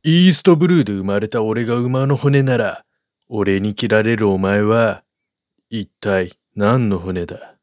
イーストブルーで生まれた俺が馬の骨なら、俺に切られるお前は、一体何の骨だ？